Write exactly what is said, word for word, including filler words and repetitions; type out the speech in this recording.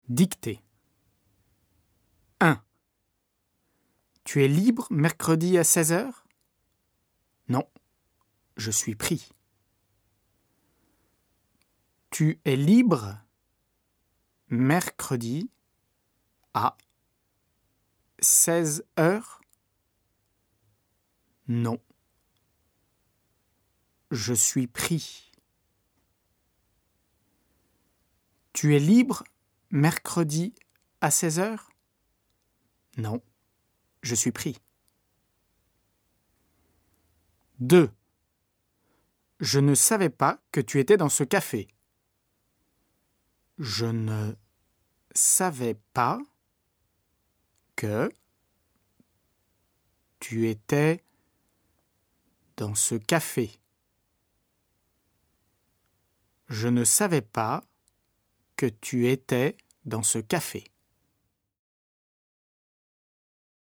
Dictée. un. Tu es libre mercredi à seize heures ? Non, je suis pris. Tu es libre mercredi à seize heures ? Non, je suis pris. Tu es libre mercredi à seize heures ? Non, je suis pris. deux. Je ne savais pas que tu étais dans ce café. Je ne savais pas que tu étais dans ce café. Je ne savais pas que tu étais dans ce café.